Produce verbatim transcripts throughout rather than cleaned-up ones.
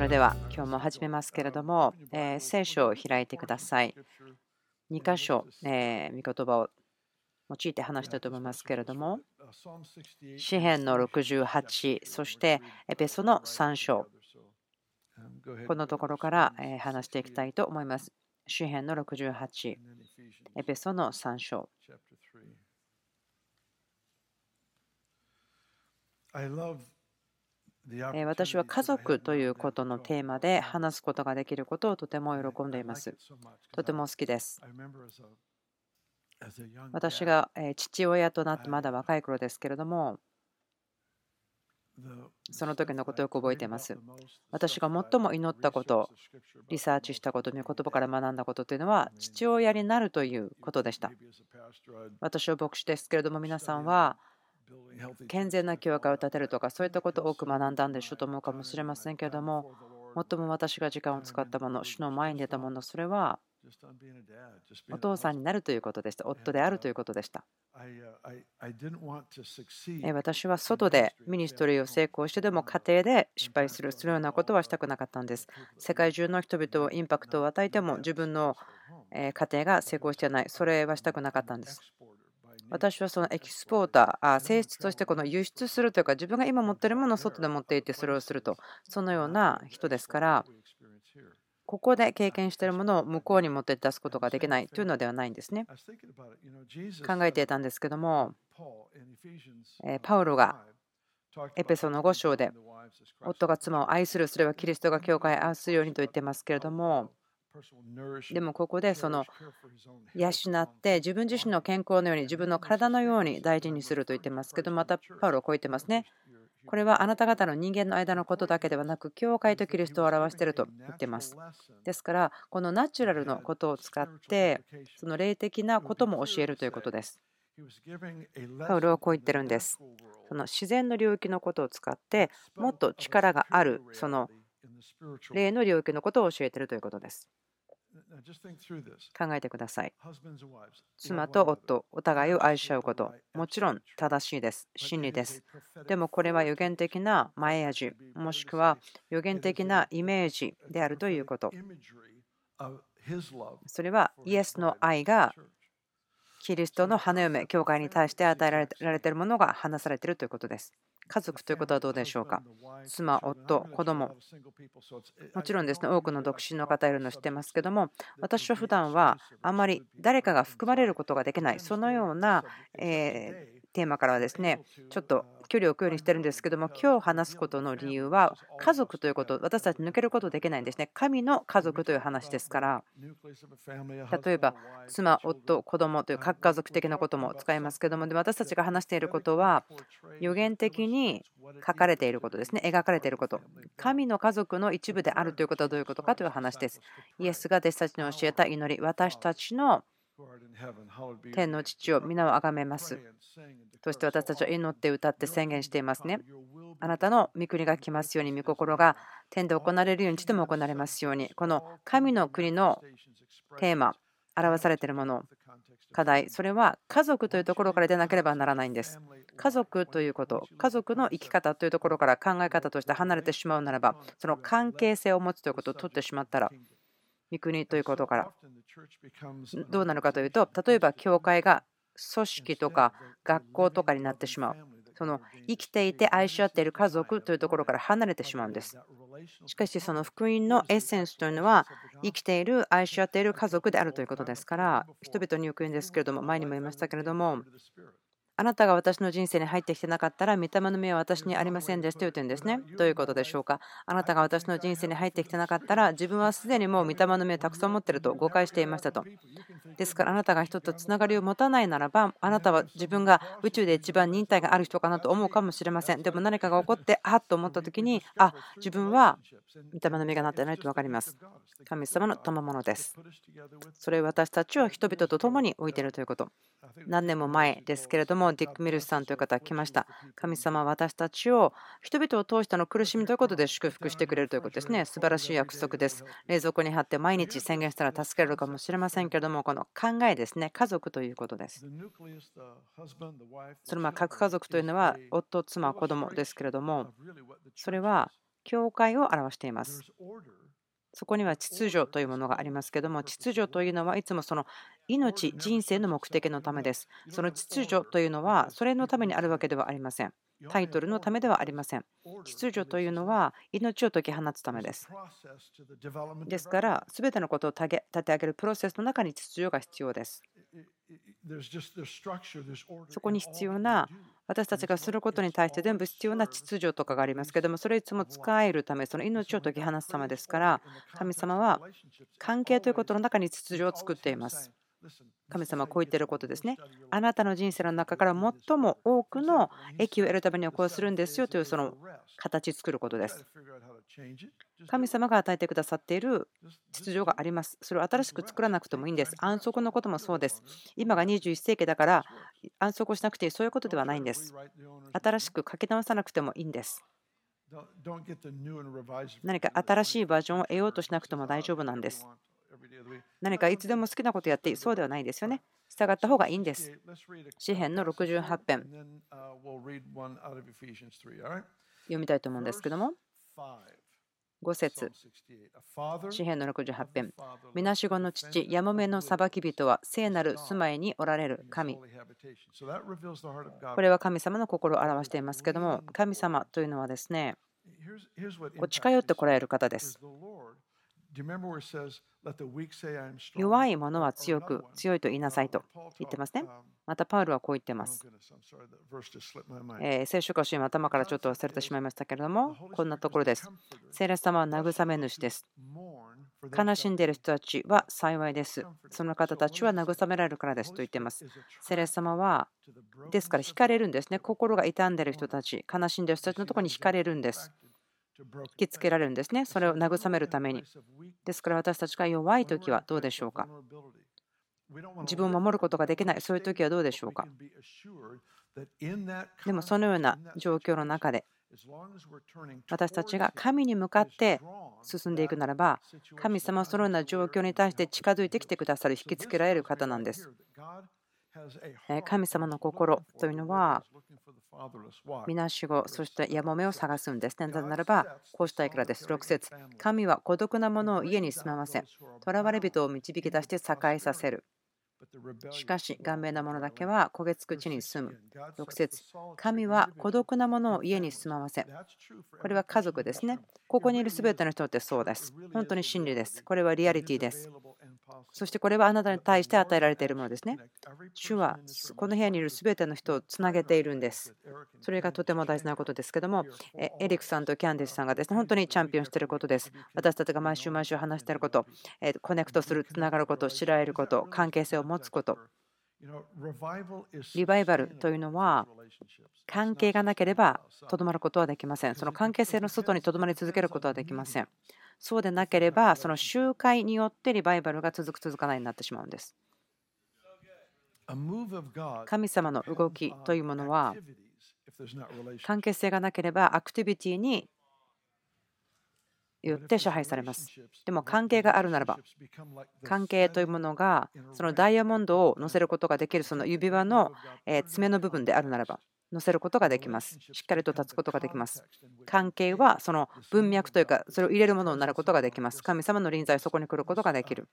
れでは今日も始めますけれども、えー聖書を開いてください。に箇所、えー、御言葉を用いて話したいと思いますけれども、詩編のろくじゅうはち、そしてエペソのさん章、このところからえー話していきたいと思います。詩編のろくじゅうはち、エペソのさん章。えー私は家族ということのテーマで話すことができることをとても喜んでいます。とても好きです。私がえー父親となってまだ若い頃ですけれども、その時のことをよく覚えています。私が最も祈ったこと、リサーチしたこと、御言葉から学んだことというのは、父親になるということでした。私は牧師ですけれども、皆さんは健全な教会を建てるとか、そういったことを多く学んだんでしょうと思うかもしれませんけれども、最も私が時間を使ったもの、主の前に出たもの、それはお父さんになるということでした。夫であるということでした。え私は外でミニストリーを成功してでも家庭で失敗する、するようなことはしたくなかったんです。世界中の人々をインパクトを与えても自分のえ家庭が成功していない、それはしたくなかったんです。私はそのエキスポーター、あ性質としてこの輸出するというか、自分が今持っているものを外で持っていってそれをすると、そのような人ですから、ここで経験しているものを向こうに持って出すことができないというのではないんですね。考えていたんですけども、えパウロがエペソのご章で、夫が妻を愛する、それはキリストが教会を愛するようにと言ってますけれども、でもここでその養って自分自身の健康のように自分の体のように大事にすると言ってますけど、またパウロはこう言ってますね。これはあなた方の人間の間のことだけではなく、教会とキリストを表していると言ってます。ですから、このナチュラルのことを使って、その霊的なことも教えるということです。パウロはこう言ってるんです。その自然の領域のことを使って、もっと力がある、その霊の領域のことを教えているということです。考えてください。妻と夫、お互いを愛し合うこと、もちろん正しいです。真理です。でもこれは予言的な前味、もしくは予言的なイメージであるということ。それはイエスの愛がキリストの花嫁、教会に対して与えられているものが話されているということです。家族ということはどうでしょうか。妻、夫、子供。もちろんですね、多くの独身の方いるの知ってますけども、私は普段はあまり誰かが含まれることができない、そのような、えーテーマからはですね、ちょっと距離を置くようにしてるんですけども、今日話すことの理由は、家族ということ、私たち抜けることできないんですね。神の家族という話ですから、例えば妻、夫、子供という核家族的なことも使いますけども、で私たちが話していることは、予言的に書かれていることですね、描かれていること。神の家族の一部であるということはどういうことかという話です。イエスが弟子たちに教えた祈り、私たちの天の父を皆をあがめます。そして私たちは祈って歌って宣言していますね。あなたの御国が来ますように、御心が天で行われるように地でも行われますように。この神の国のテーマ、表されているもの、課題、それは家族というところから出なければならないんです。家族ということ、家族の生き方というところから考え方として離れてしまうならば、その関係性を持つということを取ってしまったら、御国ということからどうなるかというと、例えば教会が組織とか学校とかになってしまう。その生きていて愛し合っている家族というところから離れてしまうんです。しかしその福音のエッセンスというのは、生きている愛し合っている家族であるということですから、人々によく言うんですけれども、前にも言いましたけれども、あなたが私の人生に入ってきてなかったら、御霊の目は私にありませんでしたと言ってるんですね。どういうことでしょうか。あなたが私の人生に入ってきてなかったら、自分はすでにもう御霊の目をたくさん持っていると誤解していましたと。ですからあなたが人とつながりを持たないならば、あなたは自分が宇宙で一番忍耐がある人かなと思うかもしれません。でも何かが起こって、あっと思った時に、あ、自分は御霊の目がなってないと分かります。神様の賜物です。それを私たちは人々と共に置いているということ。何年も前ですけれども、ディック・ミルスさんという方が来ました。神様は私たちを人々を通しての苦しみということで祝福してくれるということですね。素晴らしい約束です。冷蔵庫に貼って毎日宣言したら助けられるかもしれませんけれども、この考えですね、家族ということです。そのまあ核家族というのは夫、妻、子供ですけれども、それは教会を表しています。そこには秩序というものがありますけども、秩序というのはいつもその命、人生の目的のためです。その秩序というのはそれのためにあるわけではありません。タイトルのためではありません。秩序というのは命を解き放つためです。ですから、すべてのことを立て上げるプロセスの中に秩序が必要です。そこに必要な、私たちがすることに対して全部必要な秩序とかがありますけども、それいつも使えるため、その命を解き放つためですから、神様は関係ということの中に秩序を作っています。神様はこう言っていることですね。あなたの人生の中から最も多くの益を得るためにはこうするんですよというその形作ることです。神様が与えてくださっている秩序があります。それを新しく作らなくてもいいんです。安息のこともそうです。今がにじゅういっせいきだから安息をしなくていい、そういうことではないんです。新しく書き直さなくてもいいんです。何か新しいバージョンを得ようとしなくても大丈夫なんです。何かいつでも好きなことやっていい、そうではないですよね。従った方がいいんです。詩編のろくじゅうはち編読みたいと思うんですけども、ご節、詩編のろくじゅうはち編。みなしごの父、やもめの裁き人は聖なる住まいにおられる神。これは神様の心を表していますけども、神様というのはですね、こう近寄ってこられる方です。弱い者は強く、強いと言いなさいと言ってますね。またパウルはこう言ってます。えー聖書箇所今頭からちょっと忘れてしまいましたけれども、こんなところです。聖霊様は慰め主です。悲しんでいる人たちは幸いです。その方たちは慰められるからですと言っています。聖霊様は、ですから惹かれるんですね。心が傷んでいる人たち、悲しんでいる人たちのところに惹かれるんです。引きつけられるんですね。それを慰めるために。ですから私たちが弱いときはどうでしょうか。自分を守ることができない、そういうときはどうでしょうか。でもそのような状況の中で、私たちが神に向かって進んでいくならば、神様はそのような状況に対して近づいてきてくださる、引きつけられる方なんです。神様の心というのは、みなしご、そしてやもめを探すんですね。なぜならば、こうしたいからです。ろく節、神は孤独な者を家に住まわせ、囚われ人を導き出して栄えさせる。しかし、顔面な者だけは焦げつく地に住む。ろく節、神は孤独な者を家に住まわせ。これは家族ですね。ここにいるすべての人ってそうです。本当に真理です。これはリアリティです。そしてこれはあなたに対して与えられているものですね。主はこの部屋にいるすべての人をつなげているんです。それがとても大事なことですけども、エリックさんとキャンディスさんがですね、本当にチャンピオンしていることです。私たちが毎週毎週話していること、コネクトする、つながること、知られること、関係性を持つこと。リバイバルというのは、関係がなければとどまることはできません。その関係性の外にとどまり続けることはできません。そうでなければ、その集会によってリバイバルが続く、続かないになってしまうんです。神様の動きというものは、関係性がなければアクティビティによって支配されます。でも関係があるならば、関係というものがそのダイヤモンドを乗せることができるその指輪の爪の部分であるならば、乗せることができます。しっかりと立つことができます。関係はその文脈というか、それを入れるものになることができます。神様の臨在、そこに来ることができる。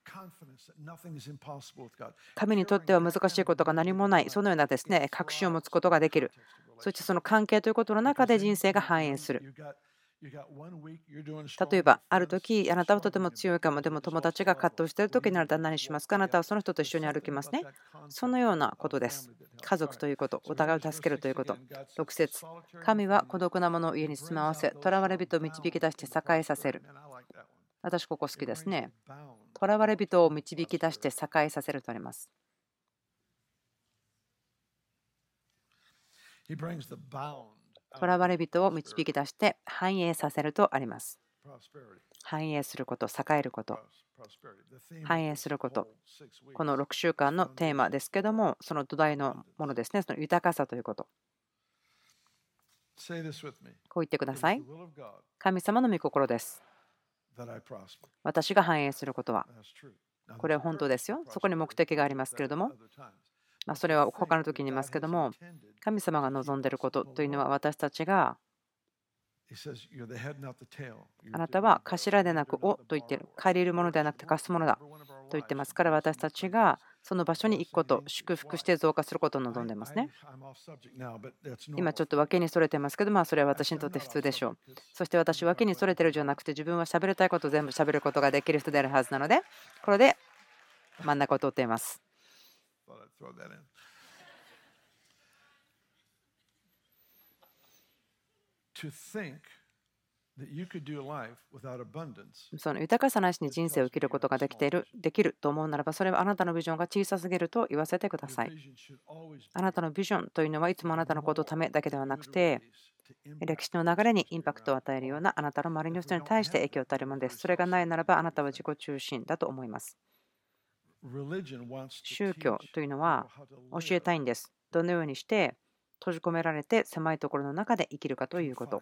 神にとっては難しいことが何もない、そのようなですね、確信を持つことができる。そしてその関係ということの中で人生が反映する。例えば、ある時、あなたはとても強いかも、でも友達が葛藤している時にあなたは何しますか。あなたはその人と一緒に歩きますね。そのようなことです。家族ということ、お互いを助けるということ。ろく節、神は孤独な者を家に住まわせ、囚われ人を導き出して栄えさせる。私、ここ好きですね。囚われ人を導き出して栄えさせるとあります。囚われ人を導き出して繁栄させるとあります。繁栄すること、栄えること、繁栄すること。このろくしゅうかんのテーマですけども、その土台のものですね、その豊かさということ。こう言ってください。神様の御心です。私が繁栄することは。これは本当ですよ。そこに目的がありますけれども。まあ、それは他の時に言いますけども、神様が望んでいることというのは私たちがあなたは頭でなく尾と言っている。借りるものではなくて貸すものだと言ってますから、私たちがその場所に行くこと、祝福して増加することを望んでますね。今ちょっと脇にそれてますけど、まあそれは私にとって普通でしょう。そして私、脇にそれてるじゃなくて、自分は喋りたいことを全部喋ることができる人であるはずなので、これで真ん中を通っています。その豊かさなしに人生を生きることができている、できると思うならば、それはあなたのビジョンが小さすぎると言わせてください。あなたのビジョンというのはいつもあなたのことのためだけではなくて、歴史の流れにインパクトを与えるようなあなたの周りの人に対して影響を与えるものです。それがないならば、あなたは自己中心だと思います。宗教というのは教えたいんです。どのようにして閉じ込められて狭いところの中で生きるかということ。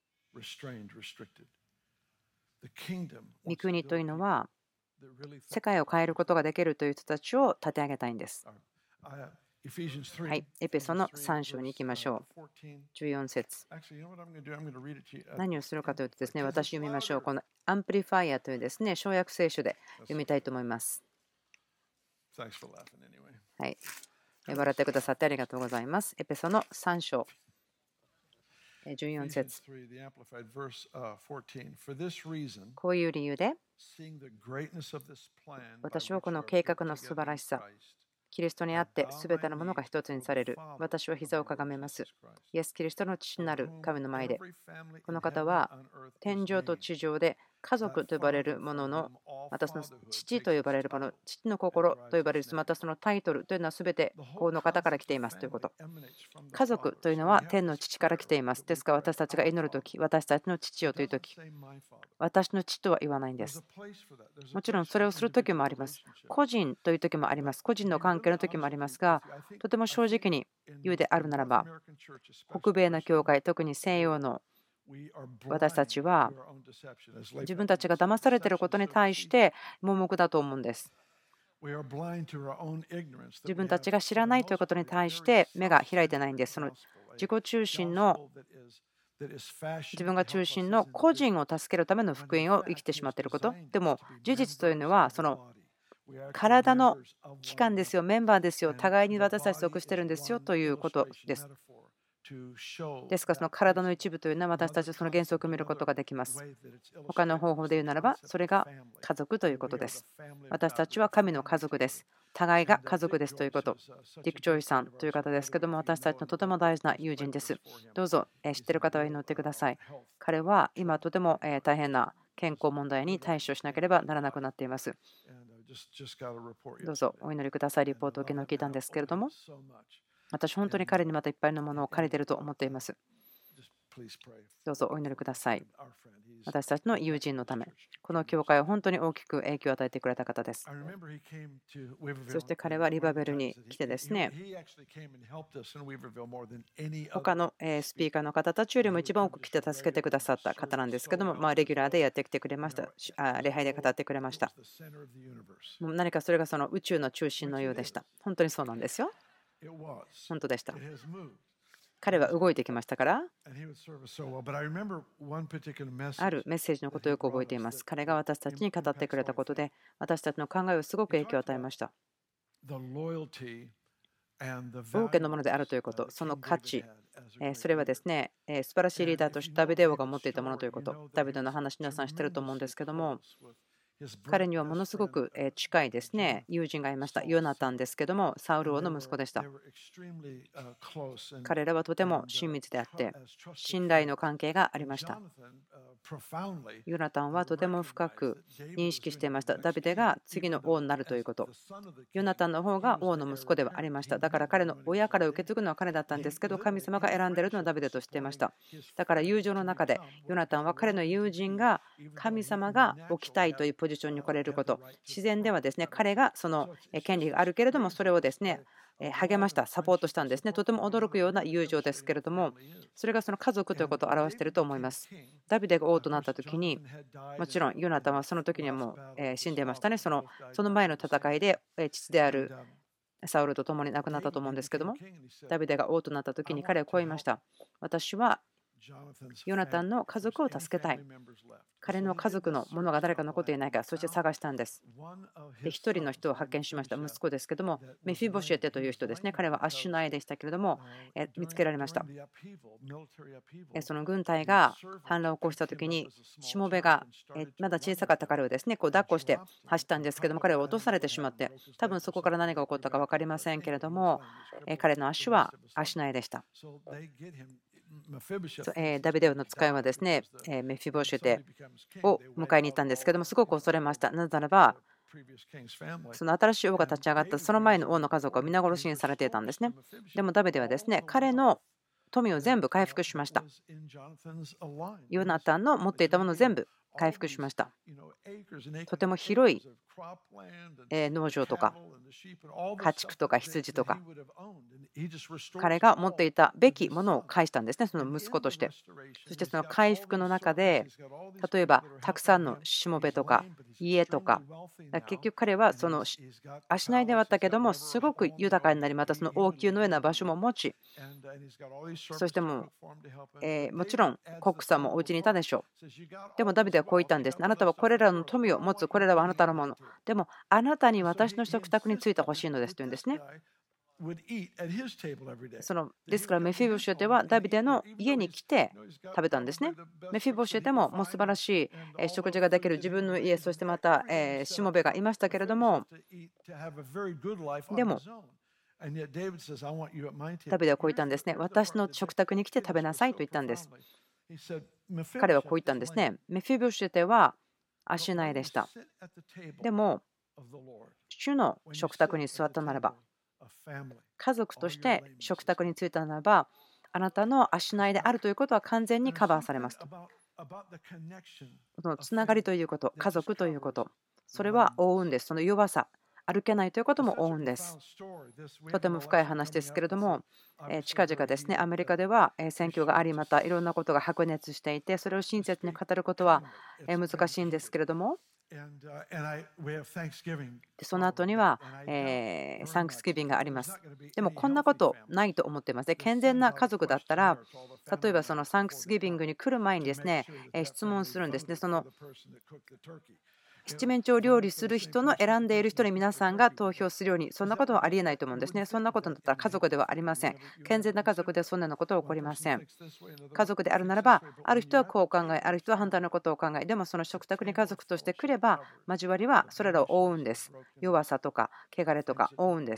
御国というのは世界を変えることができるという人たちを立て上げたいんです。はい、エペソのさん章に行きましょう。じゅうよん節。何をするかというとですね、私読みましょう。このアンプリファイアというですね、小約聖書で読みたいと思います。はい。笑ってくださってありがとうございます。エペソのさん章。じゅうよん節。こういう理由で、私はこの計画の素晴らしさ、キリストにあってすべてのものが一つにされる。私は膝をかがめます。イエス・キリストの父なる神の前で。この方は天上と地上で家族と呼ばれるものの、またその父と呼ばれるもの、父の心と呼ばれる、またそのタイトルというのはすべてこの方から来ていますということ。家族というのは天の父から来ています。ですから私たちが祈るとき、私たちの父よというとき、私の父とは言わないんです。もちろんそれをするときもあります。個人というときもあります。個人の関係のときもありますが、とても正直に言うであるならば、北米の教会、特に西洋の私たちは自分たちが騙されていることに対して盲目だと思うんです。自分たちが知らないということに対して目が開いてないんです。その自己中心の自分が中心の個人を助けるための福音を生きてしまっていること。でも事実というのはその体の器官ですよ、メンバーですよ、互いに私たち属してるんですよということです。ですからその体の一部というのは私たちはその原則を見ることができます。他の方法で言うならばそれが家族ということです。私たちは神の家族です。互いが家族ですということ。ディック・ジョイさんという方ですけども、私たちのとても大事な友人です。どうぞ知っている方は祈ってください。彼は今とても大変な健康問題に対処しなければならなくなっています。どうぞお祈りください。リポートを昨日聞いたんですけれども、私、本当に彼にまたいっぱいのものを借りていると思っています。どうぞお祈りください。私たちの友人のため、この教会を本当に大きく影響を与えてくれた方です。そして彼はリバベルに来てですね、他のスピーカーの方たちよりも一番多く来て助けてくださった方なんですけども、まあ、レギュラーでやってきてくれました。あ礼拝で語ってくれました。もう何かそれがその宇宙の中心のようでした。本当にそうなんですよ。本当でした。彼は動いてきましたから、あるメッセージのことをよく覚えています。彼が私たちに語ってくれたことで、私たちの考えをすごく影響を与えました。王家のものであるということ、その価値、それはですね、素晴らしいリーダーとしてダビデ王が持っていたものということ、ダビデの話、皆さん知ってると思うんですけども、彼にはものすごく近いですね、友人がいました。ヨナタンですけども、サウル王の息子でした。彼らはとても親密であって、信頼の関係がありました。ヨナタンはとても深く認識していました。ダビデが次の王になるということ。ヨナタンの方が王の息子ではありました。だから彼の親から受け継ぐのは彼だったんですけど、神様が選んでいるのはダビデと知っていました。だから友情の中で、ヨナタンは彼の友人が神様が置きたいというポジションに来れること、自然ではですね、彼がその権利があるけれども、それをですね、励ました、サポートしたんですね。とても驚くような友情ですけれども、それがその家族ということを表していると思います。ダビデが王となった時に、もちろんヨナタンはその時にはもう死んでいましたね。そのその前の戦いで父であるサウルと共に亡くなったと思うんですけども、ダビデが王となった時に彼はこう言いました。私はヨナタンの家族を助けたい。彼の家族のものが誰か残っていないか、そして探したんです。で、一人の人を発見しました。息子ですけども、メフィボシェテという人ですね。彼はアッシュナイでしたけれども、え見つけられました。えその軍隊が反乱を起こしたときに、しもべがえまだ小さかった彼をですね、こう抱っこして走ったんですけども、彼は落とされてしまって、多分そこから何が起こったか分かりませんけれども、え彼の足はアッシュナイでした。そうえーダビデの使いはですね、えーメフィボシェテを迎えに行ったんですけども、すごく恐れました。なぜならば、その新しい王が立ち上がったその前の王の家族は皆殺しにされていたんですね。でもダビデはですね、彼の富を全部回復しました。ヨナタンの持っていたものを全部回復しました。とても広いえ農場とか家畜とか羊とか、彼が持っていたべきものを返したんですね、その息子として。そしてその回復の中で、例えばたくさんのしもべとか家とか、結局彼はその足内ではあったけども、すごく豊かになり、またその王宮のような場所も持ち、そしてもう、えーもちろんコックさんもお家にいたでしょう。でもダビデはこう言ったんです。あなたはこれらの富を持つ、これらはあなたのもの。でもあなたに私の食卓についてほしいのですというんですね。そのですからメフィボシェテはダビデの家に来て食べたんですね。メフィボシェテももう素晴らしい食事ができる自分の家、そしてまたえしもべがいましたけれども、でもダビデはこう言ったんですね。私の食卓に来て食べなさいと言ったんです。彼はこう言ったんですね。メフィボシェテは足内でした。でも主の食卓に座ったならば、家族として食卓に就いたならば、あなたの足内であるということは完全にカバーされますと。そのつながりということ、家族ということ、それは覆うんです。その弱さ、歩けないということも覆うんです。とても深い話ですけれども、え近々ですね、アメリカではえ選挙があり、またいろんなことが白熱していて、それを親切に語ることはえ難しいんですけれども、その後には、えーサンクスギビングがあります。でもこんなことないと思っていますね。健全な家族だったら、例えばそのサンクスギビングに来る前にですね、えー質問するんですね。その七面鳥料理する人の選んでいる人に皆さんが投票するように、そんなことはありえないと思うんですね。そんなことだったら家族ではありません。健全な家族でそんなようなことは起こりません。家族であるならば、ある人はこう考え、ある人は反対のことを考え、でもその食卓に家族として来れば、交わりはそれらを覆うんです。弱さとか汚れとか覆うんです。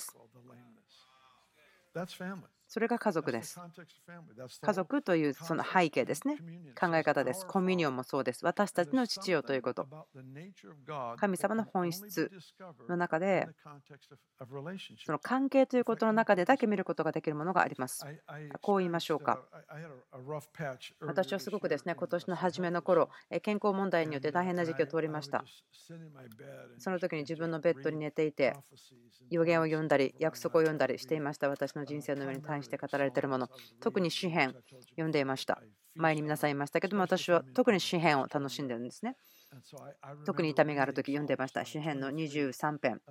それが家族です。家族というその背景ですね。考え方です。コミュニオンもそうです。私たちの父よということ。神様の本質の中で、その関係ということの中でだけ見ることができるものがあります。こう言いましょうか。私はすごくですね、今年の初めの頃、健康問題によって大変な時期を通りました。その時に自分のベッドに寝ていて、予言を読んだり、約束を読んだりしていました。私の人生の上に対して語られているもの、特に詩篇読んでいました。前に皆さん言いましたけども、私は特に詩篇を楽しんでるんですね。特に痛みがあるとき読んでいました。詩篇のにじゅうさん編。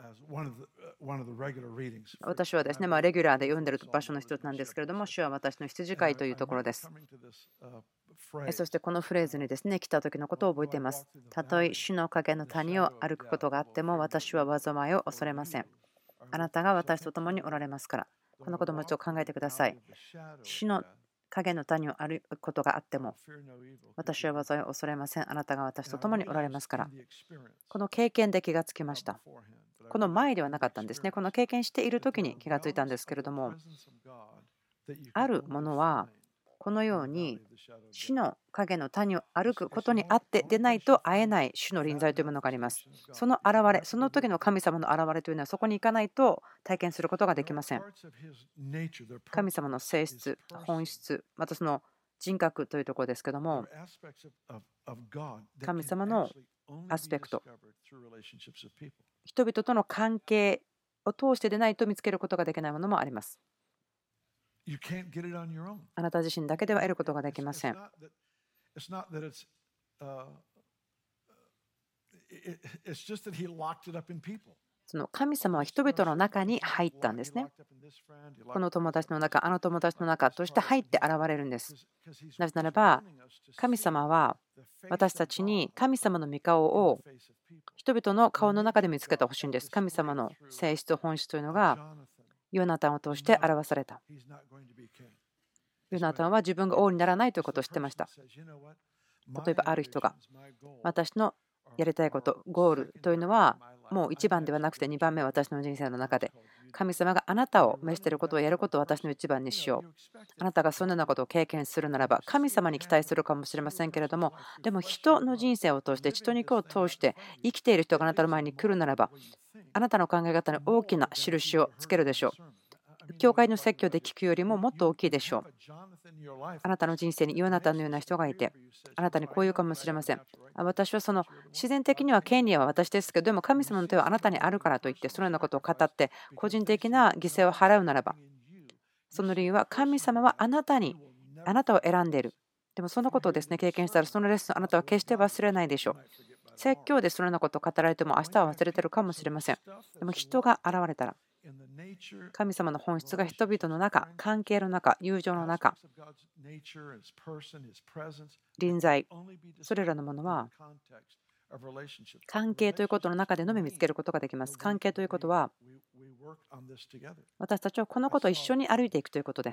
私はですね、まあ、レギュラーで読んでいる場所の一つなんですけれども、主は私の羊飼いというところです。そしてこのフレーズにですね、来た時のことを覚えています。たとえ主の影の谷を歩くことがあっても、私は災いを恐れません。あなたが私と共におられますから。このこともちょっと考えてください。主の影の谷を歩くことがあっても、私は災いを恐れません。あなたが私と共におられますから。この経験で気がつきました。この前ではなかったんですね。この経験している時に気がついたんですけれども、あるものはこのように主の影の谷を歩くことにあってでないと会えない主の臨在というものがあります。その現れ、その時の神様の現れというのはそこに行かないと体験することができません。神様の性質、本質、またその人格というところですけども、神様のアスペクト、人々との関係を通してでないと見つけることができないものもあります。あなた自身だけでは得ることができません。 その神様は人々の中に入ったんですね。この友達の中、あの友達の中として入って現れるんです。なぜならば、神様は私たちに神様の御顔を人々の顔の中で見つけてほしいんです。神様の性質、本質というのがヨナタンを通して表された。ヨナタンは自分が王にならないということを知ってました。例えばある人が私のやりたいこと、ゴールというのはもういちばんではなくてにばんめ、私の人生の中で神様があなたを召していることをやることを私のいちばんにしよう。あなたがそのようなことを経験するならば神様に期待するかもしれませんけれども、でも人の人生を通して血と肉を通して生きている人があなたの前に来るならば、あなたの考え方に大きな印をつけるでしょう。教会の説教で聞くよりももっと大きいでしょう。あなたの人生にヨナタンのような人がいて、あなたにこう言うかもしれません。私はその自然的には権利は私ですけど、でも神様の手はあなたにあるからといって、そのようなことを語って、個人的な犠牲を払うならば、その理由は神様はあなたに、あなたを選んでいる。でもそのことをですね、経験したら、そのレッスンあなたは決して忘れないでしょう。説教でそのようなことを語られても明日は忘れてるかもしれません。でも人が現れたら、神様の本質が人々の中、関係の中、友情の中、臨在、それらのものは関係ということの中でのみ見つけることができます。関係ということは、私たちはこのことを一緒に歩いていくということです。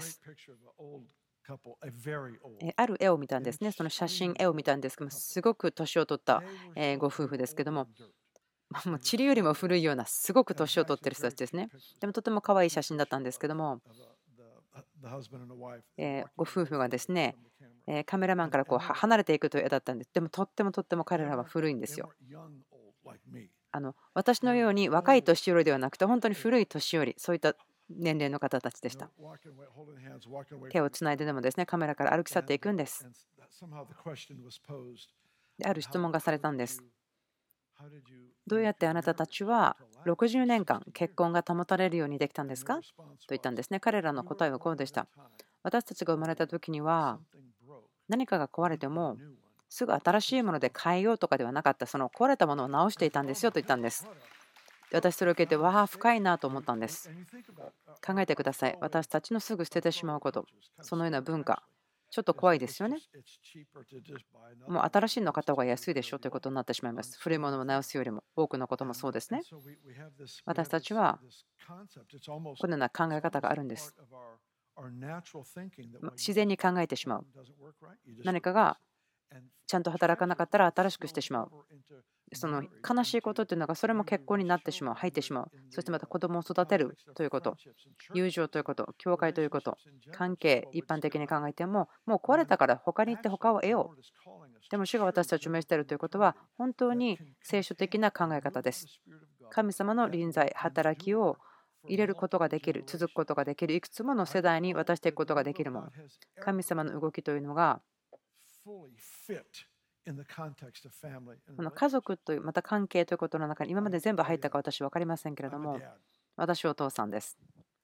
ある絵を見たんですね。その写真、絵を見たんですけども、すごく年を取ったご夫婦ですけども、もう塵よりも古いようなすごく年を取ってる人たちですね。でもとても可愛い写真だったんですけども、えーご夫婦がですね、えーカメラマンからこうは離れていくという絵だったんです。でもとってもとっても彼らは古いんですよ。あの私のように若い年寄りではなくて、本当に古い年寄り、そういった年齢の方たちでした。手をつないででもですね、カメラから歩き去っていくんです。である質問がされたんです。どうやってあなたたちはろくじゅうねんかん結婚が保たれるようにできたんですかと言ったんですね。彼らの答えはこうでした。私たちが生まれた時には何かが壊れてもすぐ新しいもので変えようとかではなかった。その壊れたものを直していたんですよと言ったんです。で私それを受けて、わあ、深いなと思ったんです。考えてください。私たちのすぐ捨ててしまうこと、そのような文化、ちょっと怖いですよね。もう新しいの買った方が安いでしょということになってしまいます。古いものを直すよりも多くのこともそうですね。私たちはこのような考え方があるんです。自然に考えてしまう。何かがちゃんと働かなかったら新しくしてしまう。その悲しいことというのがそれも結婚になってしまう、入ってしまう。そしてまた子供を育てるということ、友情ということ、教会ということ、関係、一般的に考えても、もう壊れたから他に行って他を得よう。でも主が私たちを召しているということは、本当に聖書的な考え方です。神様の臨在、働きを入れることができる、続くことができる、いくつもの世代に渡していくことができるもの。神様の動きというのが、この家族というまた関係ということの中に今まで全部入ったか私は分かりませんけれども、私はお父さんです。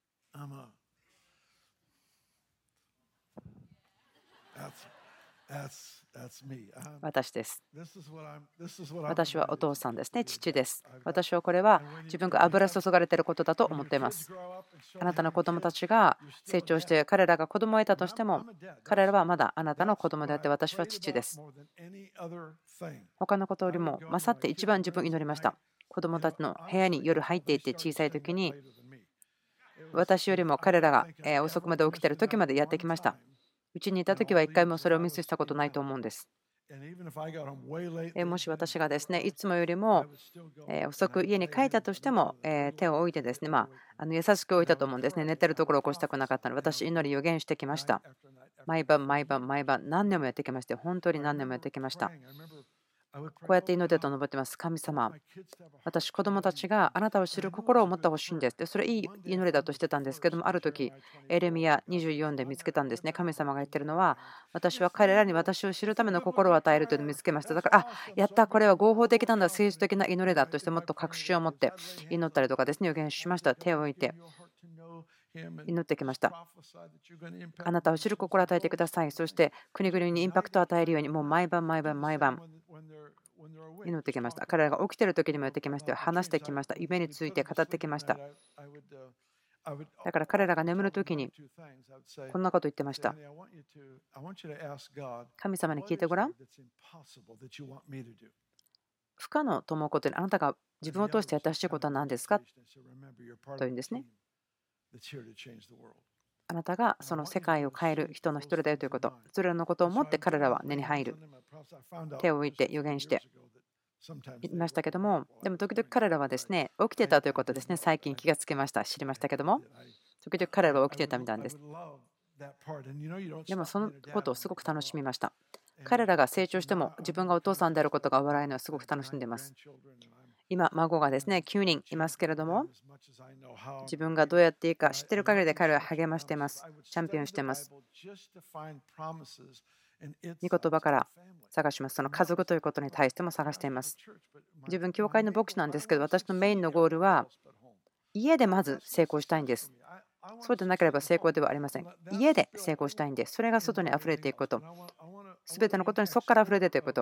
私です。私はお父さんですね。父です。私はこれは自分が油注がれていることだと思っています。あなたの子供たちが成長して彼らが子供を得たとしても、彼らはまだあなたの子供であって私は父です。他のことよりも勝って一番自分を祈りました。子供たちの部屋に夜入っていって小さい時に私よりも彼らが遅くまで起きている時までやってきました。うちにいた時は一回もそれをミスしたことないと思うんです。もし私がですね、いつもよりも遅く家に帰ったとしても手を置いてですね、まあ、あの優しく置いたと思うんですね。寝てるところを起こしたくなかったので、私、祈り予言してきました。毎晩、毎晩、毎晩、何年もやってきまして、本当に何年もやってきました。こうやって祈ってと登ってます。神様、私、子供たちがあなたを知る心を持ってほしいんです。で、それいい祈りだとしてたんですけども、ある時、エレミヤにじゅうよんで見つけたんですね。神様が言ってるのは、私は彼らに私を知るための心を与えるというのを見つけました。だから、あ、やった、これは合法的なんだ、聖書的な祈りだとして、もっと確信を持って祈ったりとかですね、予言しました。手を置いて祈ってきました。あなたを知る心を与えてください。そして国々にインパクトを与えるように、もう毎晩毎晩毎晩祈ってきました。彼らが起きている時にもやってきましたよ。話してきました。夢について語ってきました。だから彼らが眠る時にこんなこと言ってました。神様に聞いてごらん。不可能と思うことにあなたが自分を通してやってほしいことは何ですかというんですね。あなたがその世界を変える人の一人だよということ、それらのことを思って彼らは寝に入る。手を置いて予言していましたけども、でも時々彼らはですね、起きてたということですね、最近気がつきました、知りましたけども、時々彼らは起きてたみたいです。でもそのことをすごく楽しみました。彼らが成長しても自分がお父さんであることが笑えるのはすごく楽しんでいます。今、孫がですね、きゅうにんいますけれども、自分がどうやっていいか知っている限りで彼らは励ましています。チャンピオンしています。御言葉から探します。その家族ということに対しても探しています。自分、教会の牧師なんですけど、私のメインのゴールは、家でまず成功したいんです。そうでなければ成功ではありません。家で成功したいんです。それが外に溢れていくこと。すべてのことにそこから溢れていくこと。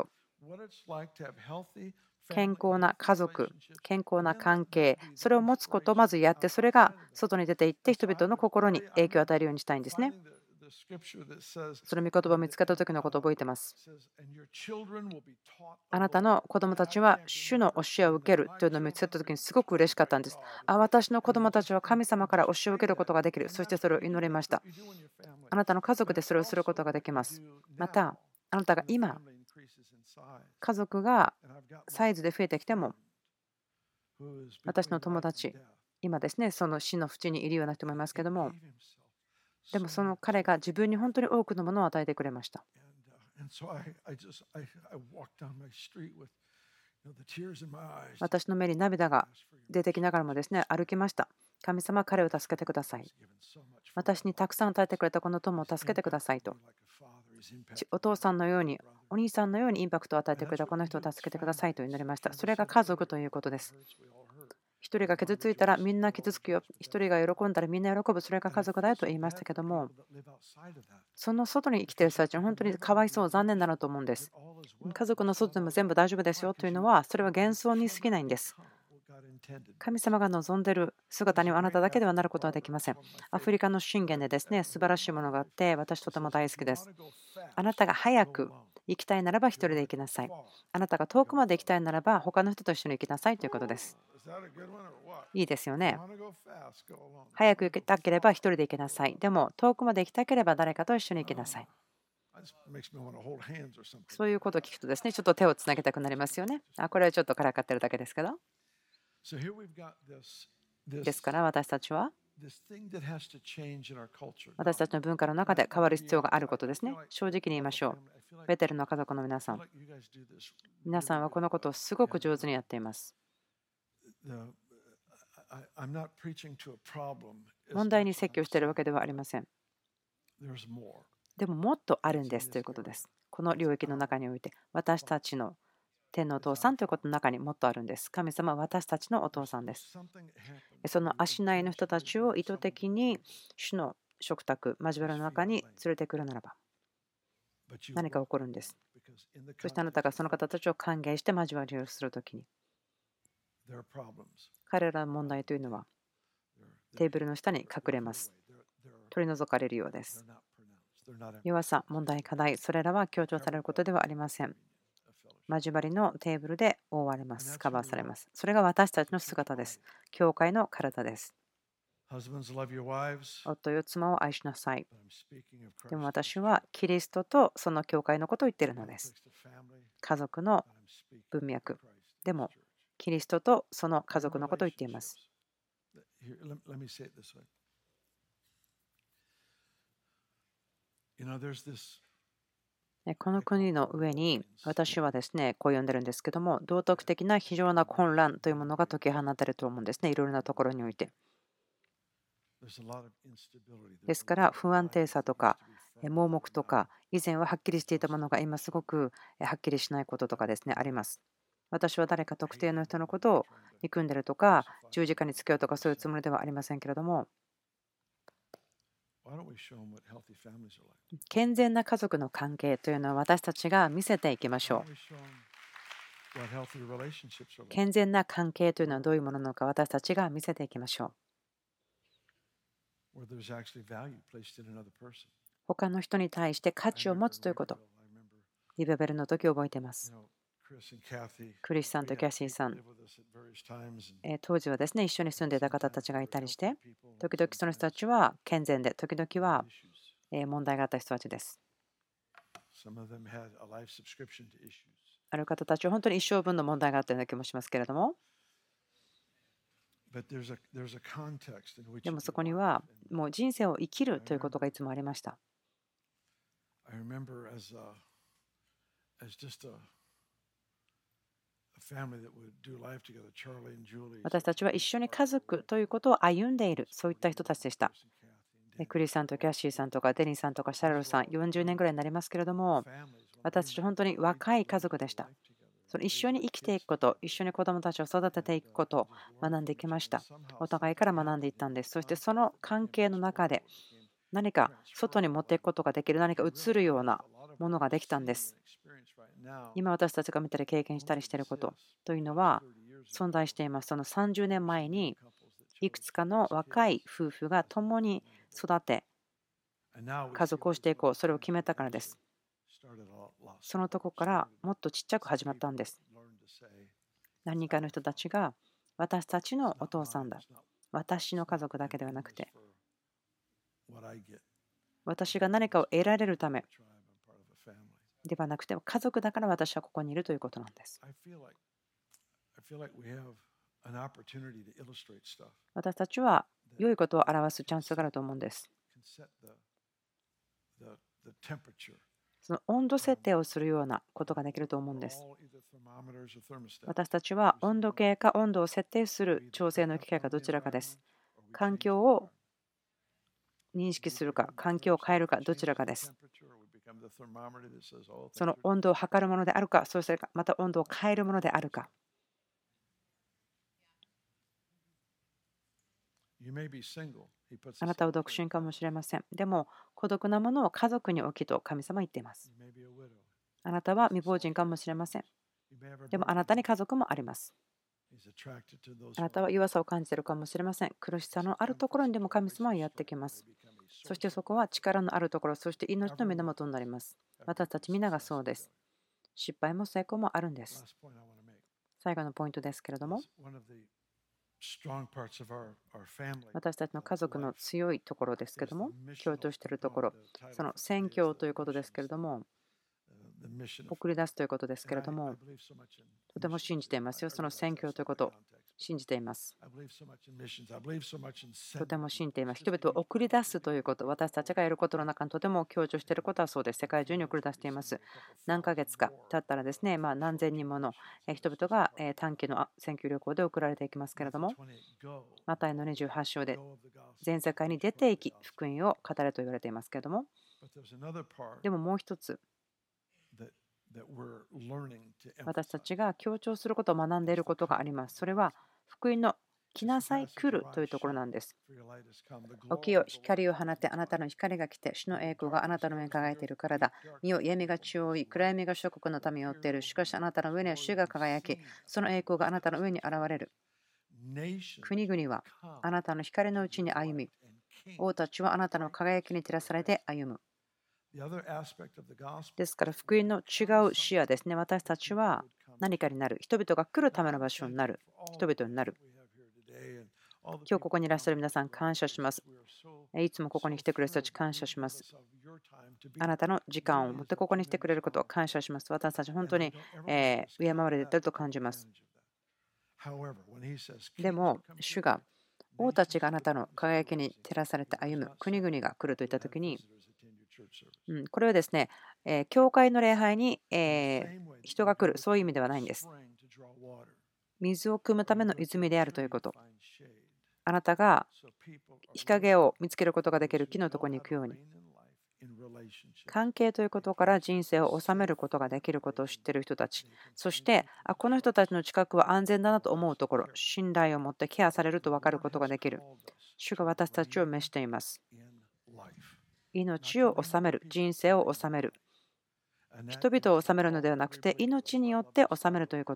健康な家族、健康な関係、それを持つことをまずやって、それが外に出ていって、人々の心に影響を与えるようにしたいんですね。その御言葉を見つけた時のことを覚えています。あなたの子供たちは主の教えを受けるというのを見つけた時にすごく嬉しかったんです。あ、私の子供たちは神様から教えを受けることができる。そしてそれを祈りました。あなたの家族でそれをすることができます。また、あなたが今、家族がサイズで増えてきても、私の友達、今ですね、その死の淵にいるような人もいますけども、でもその彼が自分に本当に多くのものを与えてくれました。私の目に涙が出てきながらもですね、歩きました。神様、彼を助けてください。私にたくさん与えてくれたこの友を助けてくださいと。お父さんのように、お兄さんのようにインパクトを与えてくれたこの人を助けてくださいと祈りました。それが家族ということです。一人が傷ついたらみんな傷つくよ。一人が喜んだらみんな喜ぶ。それが家族だよと言いましたけども、その外に生きている人たちは本当にかわいそう、残念だなと思うんです。家族の外でも全部大丈夫ですよというのは、それは幻想に過ぎないんです。神様が望んでいる姿にはあなただけではなることはできません。アフリカの信玄でですね、素晴らしいものがあって、私とても大好きです。あなたが早く行きたいならば一人で行きなさい。あなたが遠くまで行きたいならば他の人と一緒に行きなさいということです。いいですよね。早く行きたければ一人で行きなさい。でも遠くまで行きたければ誰かと一緒に行きなさい。そういうことを聞くとですね、ちょっと手をつなげたくなりますよね。あ、これはちょっとからかってるだけですけど。ですから私たちは私たちの文化の中で変わる必要があることですね。正直に言いましょう。ベテルの家族の皆さん、皆さんはこのことをすごく上手にやっています。問題に説教しているわけではありません。でももっとあるんですということです。この領域の中において私たちの天のお父さんということの中にもっとあるんです。神様は私たちのお父さんです。その足内の人たちを意図的に主の食卓、交わりの中に連れてくるならば何か起こるんです。そしてあなたがその方たちを歓迎して交わりをするときに彼らの問題というのはテーブルの下に隠れます。取り除かれるようです。弱さ、問題、課題、それらは強調されることではありません。交わりのテーブルで覆われます。カバーされます。それが私たちの姿です。教会の体です。夫よ妻を愛しなさい。でも私はキリストとその教会のことを言っているのです。家族の文脈。でもキリストとその家族のことを言っています。この国の上に私はですね、こう呼んでるんですけども、道徳的な非常な混乱というものが解き放たれると思うんですね、いろいろなところにおいて。ですから不安定さとか盲目とか以前ははっきりしていたものが今すごくはっきりしないこととかですねあります。私は誰か特定の人のことを憎んでるとか十字架につけようとかそういうつもりではありませんけれども、健全な家族の関係というのは私たちが見せていきましょう。 健全な関係というのはどういうものなのか、私たちが見せていきましょう。他の人に対して価値を持つということ。リベベルの時覚えています。クリスさんとキャシーさん、えー当時はですね、一緒に住んでいた方たちがいたりして、時々その人たちは健全で、時々はえー問題があった人たちです。ある方たちは本当に一生分の問題があったような気もしますけれども、でもそこにはもう人生を生きるということがいつもありました。私たちは一緒に家族ということを歩んでいる、そういった人たちでした。クリスさんとキャッシーさんとかデニーさんとかシャラルさん、よんじゅうねんぐらいになりますけれども、私たち本当に若い家族でした。その一緒に生きていくこと、一緒に子どもたちを育てていくことを学んできました。お互いから学んでいったんです。そしてその関係の中で何か外に持っていくことができる、何か映るようなものができたんです。今私たちが見たり経験したりしていることというのは存在しています。そのさんじゅうねんまえにいくつかの若い夫婦が共に育て家族をしていこう、それを決めたからです。そのとこからもっとちっちゃく始まったんです。何人かの人たちが私たちのお父さんだ、私の家族だけではなくて、私が何かを得られるためではなくて、家族だから私はここにいるということなんです。私たちは良いことを表すチャンスがあると思うんです。その温度設定をするようなことができると思うんです。私たちは温度計か温度を設定する調整の機械かどちらかです。環境を認識するか、環境を変えるか、どちらかです。その温度を測るものであるか、そしてまた温度を変えるものであるか。あなたは独身かもしれません。でも、孤独なものを家族に置きと神様は言っています。あなたは未亡人かもしれません。でも、あなたに家族もあります。あなたは弱さを感じているかもしれません。苦しさのあるところにでも神様はやってきます。そしてそこは力のあるところ、そして命の源になります。私たち皆がそうです。失敗も成功もあるんです。最後のポイントですけれども、私たちの家族の強いところですけれども、強調しているところ、その宣教ということですけれども、送り出すということですけれども、とても信じていますよ。その宣教ということを信じています。とても信じています。人々を送り出すということ、私たちがやることの中にとても強調していることはそうです。世界中に送り出しています。何ヶ月か経ったらですね、まあ、何千人もの人々が短期の宣教旅行で送られていきますけれども、マタイのにじゅうはち章で全世界に出ていき、福音を語れと言われていますけれども、でももう一つ、私たちが強調することを学んでいることがあります。それは福音の来なさい来るというところなんです。起きよ、光を放って、あなたの光が来て、主の栄光があなたの上に輝いているからだ。見よ、闇が地を覆い、暗闇が諸国の民を追っている。しかしあなたの上には主が輝き、その栄光があなたの上に現れる。国々はあなたの光のうちに歩み、王たちはあなたの輝きに照らされて歩む。ですから、福音の違う視野ですね。私たちは何かになる。人々が来るための場所になる。人々になる。今日ここにいらっしゃる皆さん、感謝します。いつもここに来てくれる人たち、感謝します。あなたの時間を持ってここに来てくれることを感謝します。私たち、本当にえー敬われていると感じます。でも、主が王たちがあなたの輝きに照らされて歩む国々が来るといったときに、うん、これはですね、えー教会の礼拝にえー人が来る、そういう意味ではないんです。水を汲むための泉であるということ。あなたが日陰を見つけることができる木のところに行くように、関係ということから人生を治めることができることを知っている人たち、そしてあこの人たちの近くは安全だなと思うところ、信頼を持ってケアされると分かることができる。主が私たちを召しています。命を治める、人生を治める。 人々を治めるのではなくて、命によって治めるということ。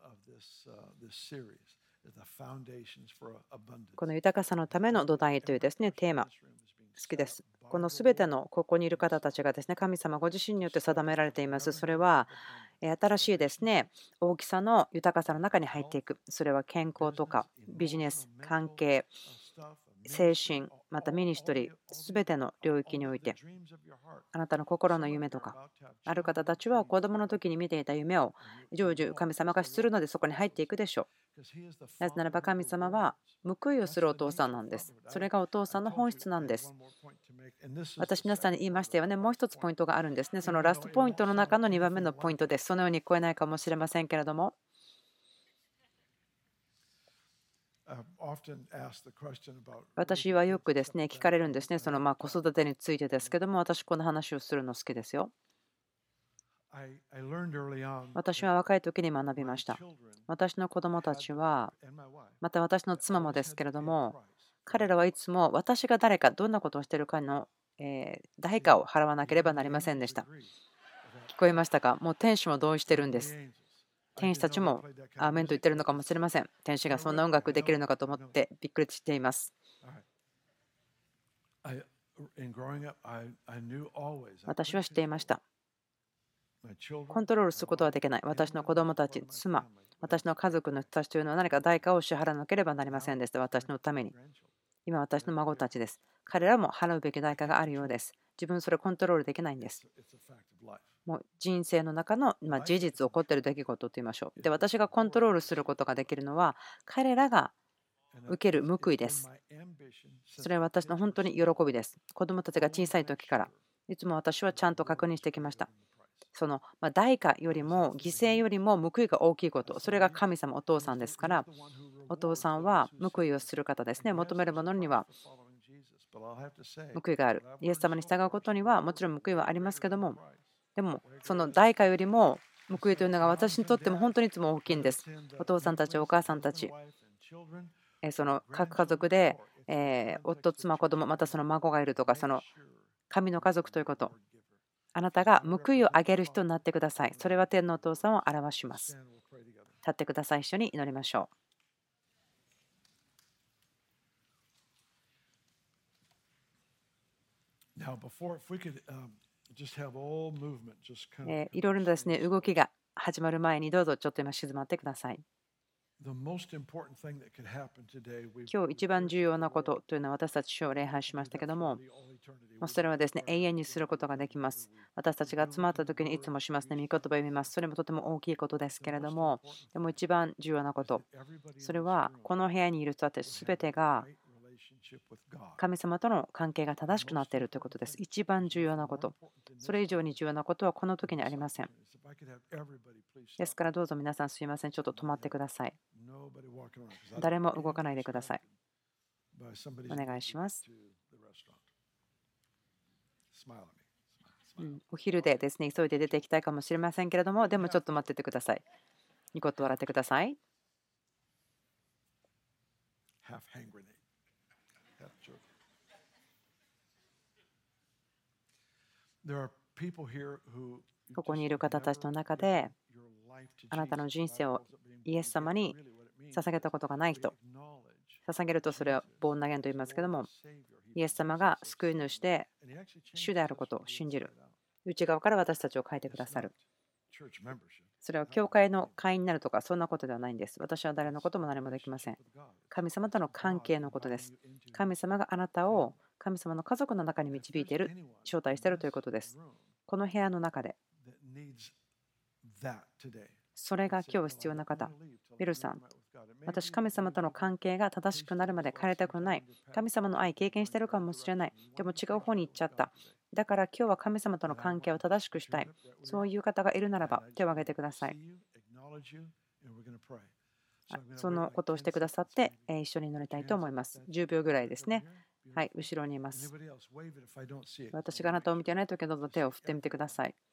この豊かさのための土台というですね、テーマ、好きです。このすべてのここにいる方たちがですね、神様ご自身によって定められています。それは新しいですね、大きさの豊かさの中に入っていく。それは健康とかビジネス、関係、精神、またミニストリー、すべての領域において、あなたの心の夢とか、ある方たちは子供の時に見ていた夢を成就神様がするのでそこに入っていくでしょう。なぜならば神様は報いをするお父さんなんです。それがお父さんの本質なんです。私皆さんに言いましたよね。もう一つポイントがあるんですね。そのラストポイントの中のにばんめのポイントです。そのように聞こえないかもしれませんけれども、私はよくですね、聞かれるんですね。そのまあ子育てについてですけども、私この話をするの好きですよ。私は若い時に学びました。私の子供たちは、また私の妻もですけれども、彼らはいつも私が誰か、どんなことをしているかのえー代価を払わなければなりませんでした。聞こえましたか？もう天使も同意してるんです。天使たちもアーメンと言ってるのかもしれません。天使がそんな音楽できるのかと思ってびっくりしています。私は知っていました。コントロールすることはできない。私の子供たち、妻、私の家族の人たちというのは何か代価を支払わなければなりませんでした。私のために。今、私の孫たちです。彼らも払うべき代価があるようです。自分それをコントロールできないんです。もう人生の中の、まあ、事実起こっている出来事と言いましょう。で、私がコントロールすることができるのは、彼らが受ける報いです。それは私の本当に喜びです。子供たちが小さい時から、いつも私はちゃんと確認してきました。そのまあ代価よりも犠牲よりも報いが大きいこと、それが神様、お父さんですから、お父さんは報いをする方ですね。求めるものには報いがある。イエス様に従うことにはもちろん報いはありますけども、でもその代価よりも報いというのが私にとっても本当にいつも大きいんです。お父さんたち、お母さんたち、その各家族でえー夫、妻、子供、またその孫がいるとか、その神の家族ということ。あなたが報いをあげる人になってください。それは天のお父さんを表します。立ってください。一緒に祈りましょう。えーいろいろなですね、動きが始まる前にどうぞちょっと今静まってください。今日一番重要なことというのは私たち主を礼拝しましたけども、それはですね、永遠にすることができます。私たちが集まった時にいつもしますね、御言葉を読みます。それもとても大きいことですけれども、でも一番重要なこと、それはこの部屋にいる人たち全てが神様との関係が正しくなっているということです。一番重要なこと。それ以上に重要なことはこの時にありません。ですからどうぞ皆さんすいません。ちょっと止まってください。誰も動かないでください。お願いします。うん、お昼でですね、急いで出ていきたいかもしれませんけれども、でもちょっと待っててください。ニコッと笑ってください。ここにいる方たちの中で、あなたの人生をイエス様に捧げたことがない人、捧げるとそれはボーン投げと言いますけども、イエス様が救い主で主であることを信じる。内側から私たちを変えてくださる。それは教会の会員になるとかそんなことではないんです。私は誰のことも何もできません。神様との関係のことです。神様があなたを神様の家族の中に導いている、招待しているということです。この部屋の中でそれが今日必要な方、ビルさん、私、神様との関係が正しくなるまで変えたくない。神様の愛経験してるかもしれない。でも違う方に行っちゃった。だから今日は神様との関係を正しくしたい。そういう方がいるならば手を挙げてください。そのことをしてくださって一緒に祈りたいと思います。じゅうびょうぐらいですね。はい、後ろにいます。私があなたを見ていないときはどうぞ手を振ってみてください。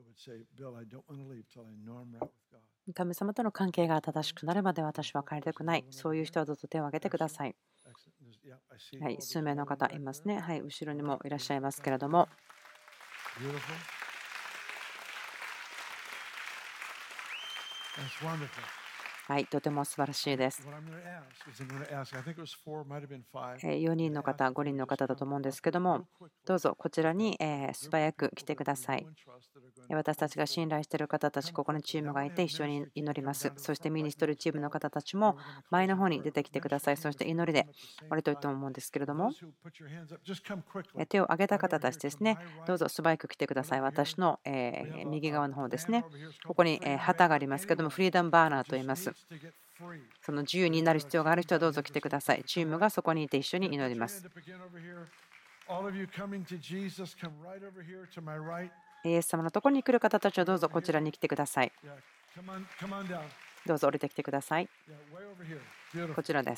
神様との関係が正しくなるまで私は帰りたくない。そういう人はどうぞ手を挙げてください。はい、数名の方いますね。はい、後ろにもいらっしゃいますけれども。 はい、とても素晴らしいです。よにんの方、ごにんの方だと思うんですけども、どうぞこちらに素早く来てください。私たちが信頼している方たち、ここにチームがいて一緒に祈ります。そしてミニストリーチームの方たちも前の方に出てきてください。そして祈りで終わりたいと思うんですけれども、手を挙げた方たちですね、どうぞ素早く来てください。私の右側の方ですね。ここに旗がありますけども、フリーダムバーナーと言います。その自由になる必要がある人はどうぞ来てください。チームがそこにいて一緒に祈ります。イエス様のところに来る方たちはどうぞこちらに来てください。どうぞ降りてきてください。こちらです。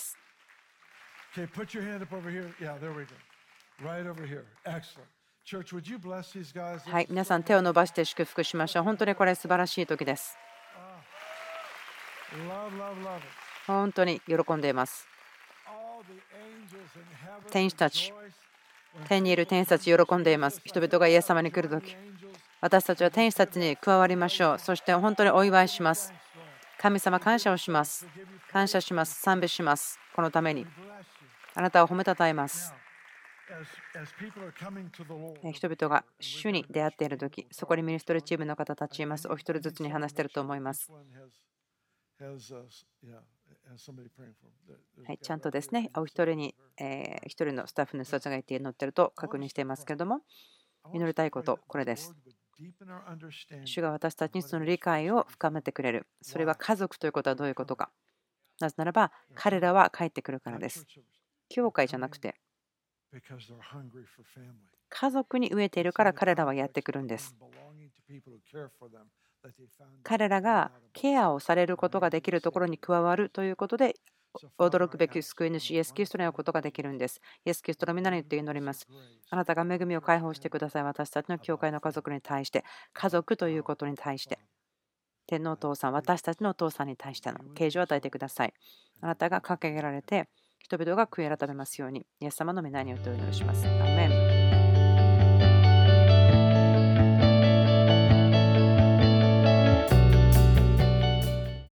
はい、皆さん手を伸ばして祝福しましょう。本当にこれ素晴らしい時です。本当に喜んでいます。天使たち、天にいる天使たち喜んでいます。人々がイエス様に来るとき、私たちは天使たちに加わりましょう。そして本当にお祝いします。神様、感謝をします。感謝します。賛美します。このために。あなたを褒めたたえます。人々が主に出会っているとき、そこにミニストリーチームの方たちいます。お一人ずつに話していると思います。はい、ちゃんとですね、お一人に、えー、一人のスタッフの人たちがいて乗っていると確認していますけれども、祈りたいこと、これです。主が私たちにその理解を深めてくれる。それは家族ということはどういうことか。なぜならば、彼らは帰ってくるからです。教会じゃなくて、家族に飢えているから彼らはやってくるんです。彼らがケアをされることができるところに加わるということで、驚くべき救い主イエス・キリストに会うことができるんです。イエス・キリストの皆によって祈ります。あなたが恵みを解放してください。私たちの教会の家族に対して、家族ということに対して、天のお父さん、私たちのお父さんに対しての啓示を与えてください。あなたが掲げられて、人々が悔い改めますように、イエス様の皆によってお祈りします。アーメン。